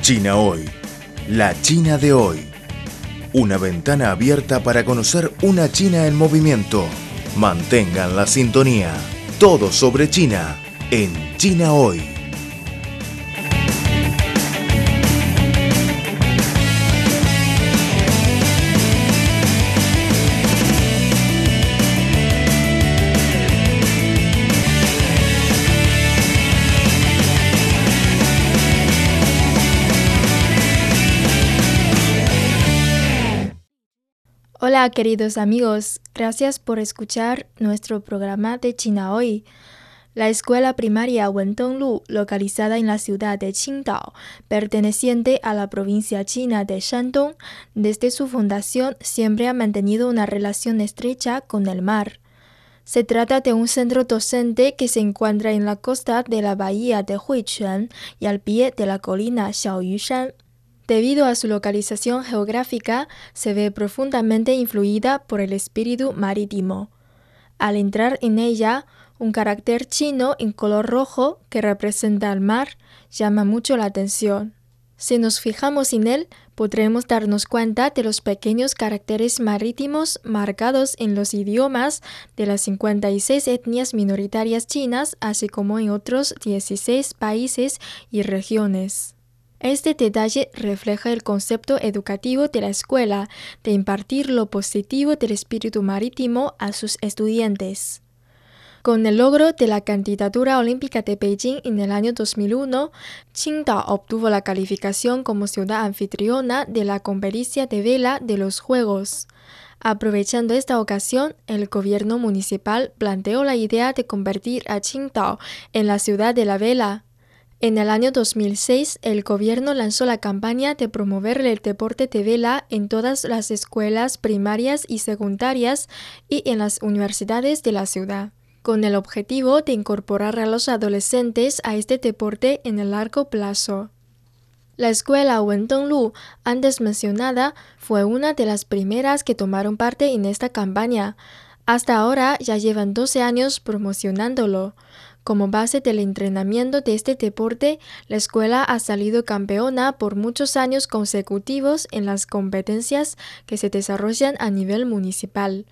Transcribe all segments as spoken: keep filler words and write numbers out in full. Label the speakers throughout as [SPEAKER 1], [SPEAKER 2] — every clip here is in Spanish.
[SPEAKER 1] China Hoy, la China de hoy. Una ventana abierta para conocer una China en movimiento. Mantengan la sintonía. Todo sobre China en China Hoy.
[SPEAKER 2] Hola queridos amigos, gracias por escuchar nuestro programa de China Hoy. La escuela primaria Wentonglu, localizada en la ciudad de Qingdao, perteneciente a la provincia china de Shandong, desde su fundación siempre ha mantenido una relación estrecha con el mar. Se trata de un centro docente que se encuentra en la costa de la bahía de Huichuan y al pie de la colina Xiaoyushan. Debido a su localización geográfica, se ve profundamente influida por el espíritu marítimo. Al entrar en ella, un carácter chino en color rojo que representa al mar llama mucho la atención. Si nos fijamos en él, podremos darnos cuenta de los pequeños caracteres marítimos marcados en los idiomas de las cincuenta y seis etnias minoritarias chinas, así como en otros dieciséis países y regiones. Este detalle refleja el concepto educativo de la escuela de impartir lo positivo del espíritu marítimo a sus estudiantes. Con el logro de la candidatura olímpica de Beijing en el año dos mil uno, Qingdao obtuvo la calificación como ciudad anfitriona de la competencia de vela de los Juegos. Aprovechando esta ocasión, el gobierno municipal planteó la idea de convertir a Qingdao en la ciudad de la vela. En el año dos mil seis, el gobierno lanzó la campaña de promover el deporte de vela en todas las escuelas primarias y secundarias y en las universidades de la ciudad, con el objetivo de incorporar a los adolescentes a este deporte en el largo plazo. La escuela Wentonglu, antes mencionada, fue una de las primeras que tomaron parte en esta campaña. Hasta ahora ya llevan doce años promocionándolo. Como base del entrenamiento de este deporte, la escuela ha salido campeona por muchos años consecutivos en las competencias que se desarrollan a nivel municipal.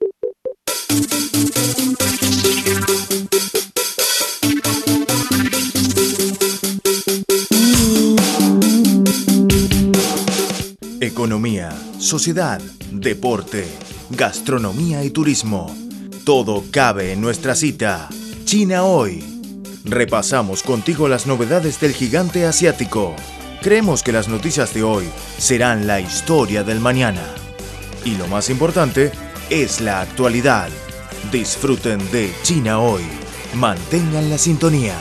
[SPEAKER 1] Economía, sociedad, deporte, gastronomía y turismo. Todo cabe en nuestra cita. China Hoy. Repasamos contigo las novedades del gigante asiático. Creemos que las noticias de hoy serán la historia del mañana. Y lo más importante es la actualidad. Disfruten de China Hoy. Mantengan la sintonía.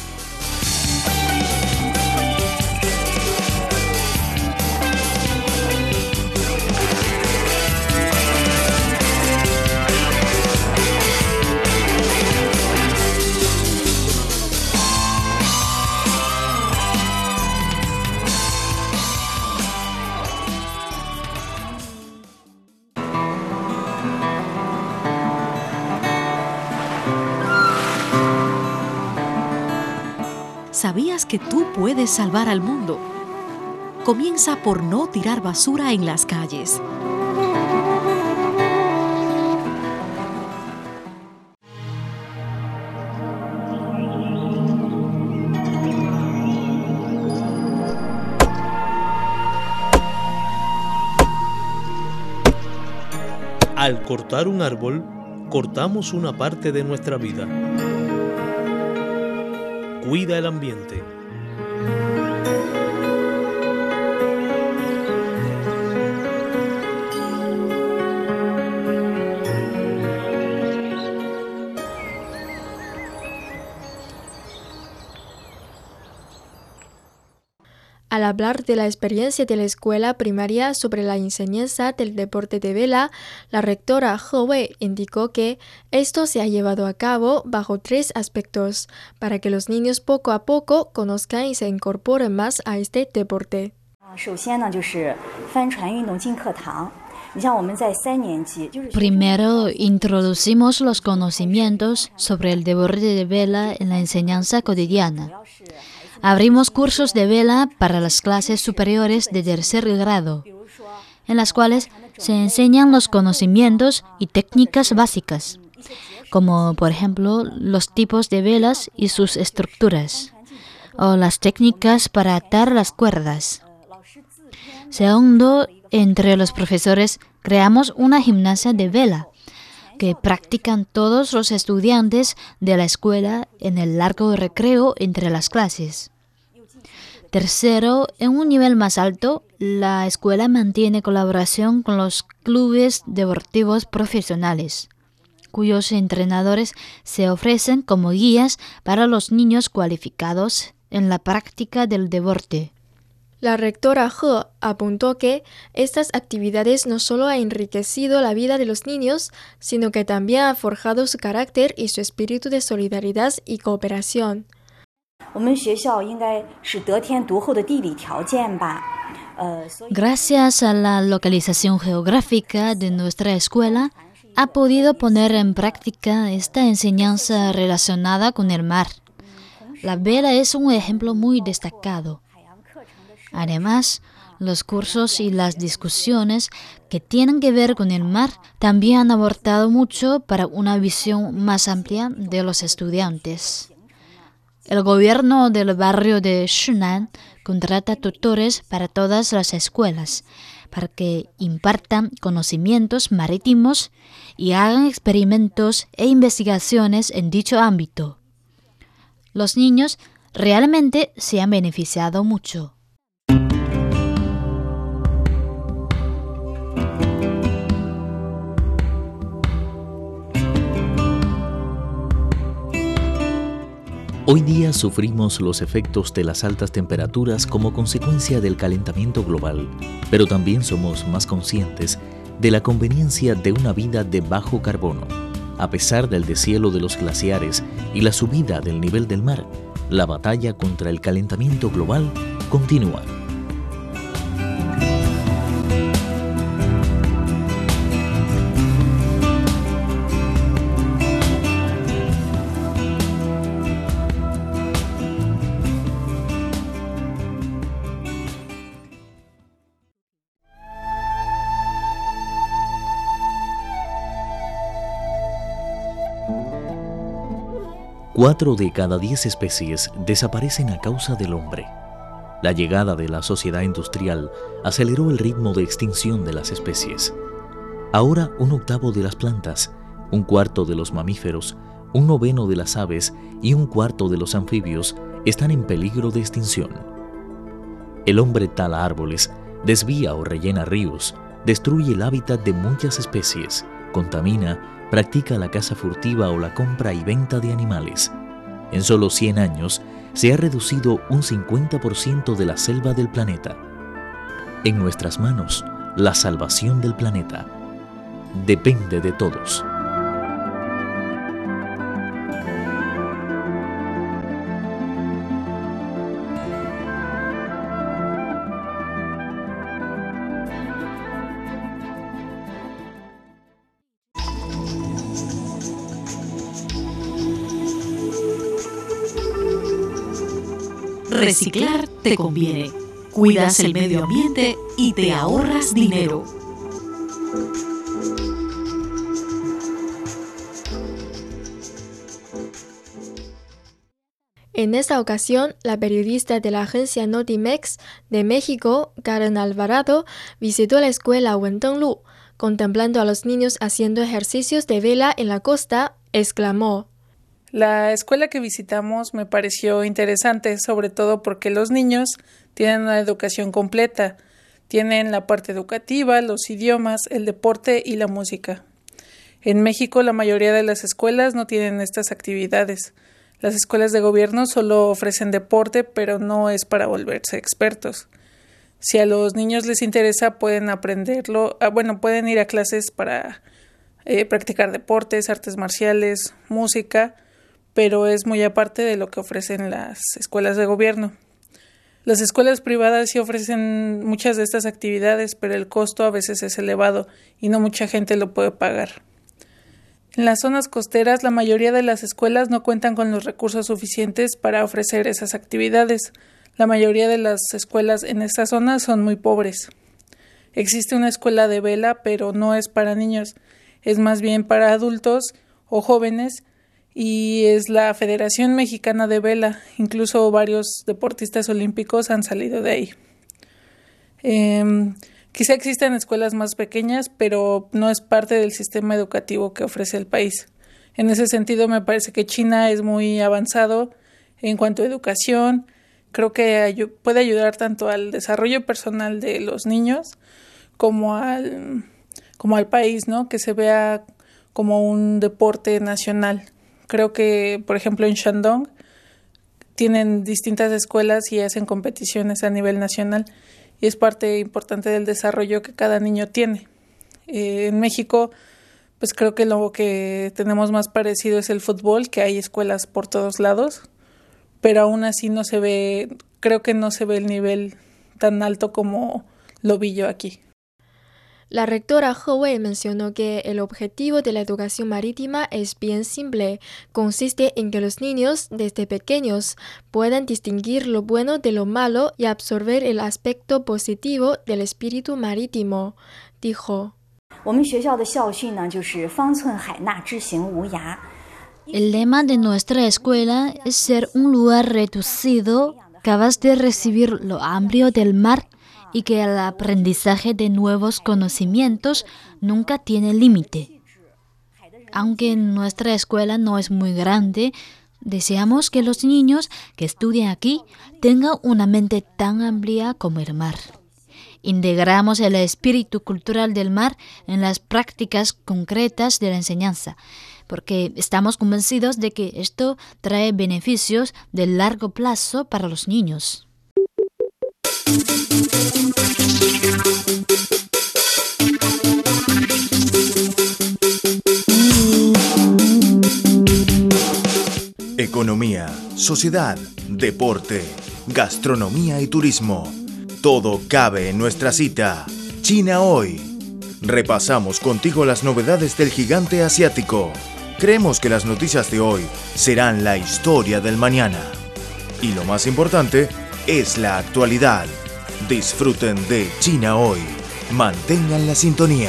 [SPEAKER 3] ¿Sabías que tú puedes salvar al mundo? Comienza por no tirar basura en las calles.
[SPEAKER 4] Al cortar un árbol, cortamos una parte de nuestra vida. Cuida el ambiente.
[SPEAKER 2] Al hablar de la experiencia de la escuela primaria sobre la enseñanza del deporte de vela, la rectora He Wei indicó que esto se ha llevado a cabo bajo tres aspectos, para que los niños poco a poco conozcan y se incorporen más a este deporte.
[SPEAKER 5] Primero, introducimos los conocimientos sobre el deporte de vela en la enseñanza cotidiana. abrimos cursos de vela para las clases superiores de tercer grado, en las cuales se enseñan los conocimientos y técnicas básicas, como por ejemplo los tipos de velas y sus estructuras, o las técnicas para atar las cuerdas. Segundo, entre los profesores creamos una gimnasia de vela, que practican todos los estudiantes de la escuela en el largo recreo entre las clases. Tercero, en un nivel más alto, la escuela mantiene colaboración con los clubes deportivos profesionales, cuyos entrenadores se ofrecen como guías para los niños cualificados en la práctica del deporte.
[SPEAKER 2] La rectora He apuntó que estas actividades no solo han enriquecido la vida de los niños, sino que también han forjado su carácter y su espíritu de solidaridad y cooperación.
[SPEAKER 5] Gracias a la localización geográfica de nuestra escuela, ha podido poner en práctica esta enseñanza relacionada con el mar. La vela es un ejemplo muy destacado. Además, los cursos y las discusiones que tienen que ver con el mar también han aportado mucho para una visión más amplia de los estudiantes. El gobierno del barrio de Shinan contrata tutores para todas las escuelas, para que impartan conocimientos marítimos y hagan experimentos e investigaciones en dicho ámbito. Los niños realmente se han beneficiado mucho.
[SPEAKER 6] Hoy día sufrimos los efectos de las altas temperaturas como consecuencia del calentamiento global, pero también somos más conscientes de la conveniencia de una vida de bajo carbono. A pesar del deshielo de los glaciares y la subida del nivel del mar, la batalla contra el calentamiento global continúa. Cuatro de cada diez especies desaparecen a causa del hombre. La llegada de la sociedad industrial aceleró el ritmo de extinción de las especies. Ahora un octavo de las plantas, un cuarto de los mamíferos, un noveno de las aves y un cuarto de los anfibios están en peligro de extinción. El hombre tala árboles, desvía o rellena ríos, destruye el hábitat de muchas especies, contamina, practica la caza furtiva o la compra y venta de animales. En solo cien años se ha reducido un cincuenta por ciento de la selva del planeta. En nuestras manos, la salvación del planeta depende de todos.
[SPEAKER 3] Reciclar te conviene. Cuidas el medio ambiente y te ahorras dinero.
[SPEAKER 2] En esta ocasión, la periodista de la agencia Notimex de México, Karen Alvarado, visitó la escuela Wentonglu. Contemplando a los niños haciendo ejercicios de vela en la costa, exclamó:
[SPEAKER 7] La escuela que visitamos me pareció interesante, sobre todo porque los niños tienen una educación completa. Tienen la parte educativa, los idiomas, el deporte y la música. En México, la mayoría de las escuelas no tienen estas actividades. Las escuelas de gobierno solo ofrecen deporte, pero no es para volverse expertos. Si a los niños les interesa, pueden aprenderlo. Ah, bueno, pueden ir a clases para eh, practicar deportes, artes marciales, música, pero es muy aparte de lo que ofrecen las escuelas de gobierno. Las escuelas privadas sí ofrecen muchas de estas actividades, pero el costo a veces es elevado y no mucha gente lo puede pagar. En las zonas costeras, la mayoría de las escuelas no cuentan con los recursos suficientes para ofrecer esas actividades. La mayoría de las escuelas en esta zona son muy pobres. Existe una escuela de vela, pero no es para niños, es más bien para adultos o jóvenes, y es la Federación Mexicana de Vela. Incluso varios deportistas olímpicos han salido de ahí. Eh, quizá existen escuelas más pequeñas, pero no es parte del sistema educativo que ofrece el país. En ese sentido, me parece que China es muy avanzado en cuanto a educación. Creo que ay- puede ayudar tanto al desarrollo personal de los niños como al, como al país, ¿no? Que se vea como un deporte nacional. Creo que, por ejemplo, en Shandong tienen distintas escuelas y hacen competiciones a nivel nacional, y es parte importante del desarrollo que cada niño tiene. Eh, en México, pues creo que lo que tenemos más parecido es el fútbol, que hay escuelas por todos lados, pero aún así no se ve, creo que no se ve el nivel tan alto como lo vi yo aquí.
[SPEAKER 2] La rectora He Wei mencionó que el objetivo de la educación marítima es bien simple. Consiste en que los niños, desde pequeños, puedan distinguir lo bueno de lo malo y absorber el aspecto positivo del espíritu marítimo. Dijo:
[SPEAKER 5] El lema de nuestra escuela es ser un lugar reducido, capaz de recibir lo amplio del mar, y que el aprendizaje de nuevos conocimientos nunca tiene límite. Aunque nuestra escuela no es muy grande, deseamos que los niños que estudian aquí tengan una mente tan amplia como el mar. Integramos el espíritu cultural del mar en las prácticas concretas de la enseñanza, porque estamos convencidos de que esto trae beneficios de largo plazo para los niños.
[SPEAKER 1] Economía, sociedad, deporte, gastronomía y turismo. Todo cabe en nuestra cita. China Hoy. Repasamos contigo las novedades del gigante asiático. Creemos que las noticias de hoy serán la historia del mañana. Y lo más importante es la actualidad. Disfruten de China Hoy. Mantengan la sintonía.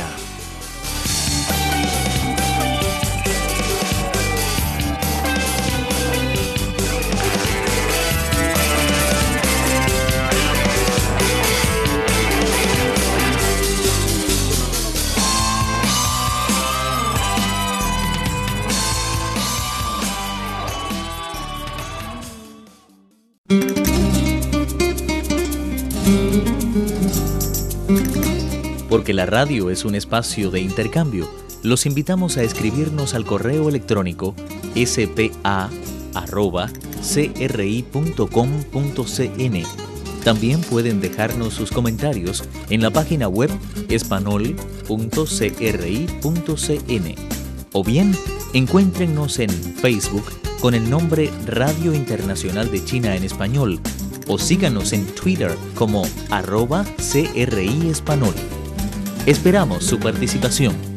[SPEAKER 6] Porque la radio es un espacio de intercambio, los invitamos a escribirnos al correo electrónico s p a arroba c r i punto com punto c n. También pueden dejarnos sus comentarios en la página web espanol punto c r i punto c n. O bien, encuéntrennos en Facebook con el nombre Radio Internacional de China en Español, o síganos en Twitter como arroba C R I Espanol. Esperamos su participación.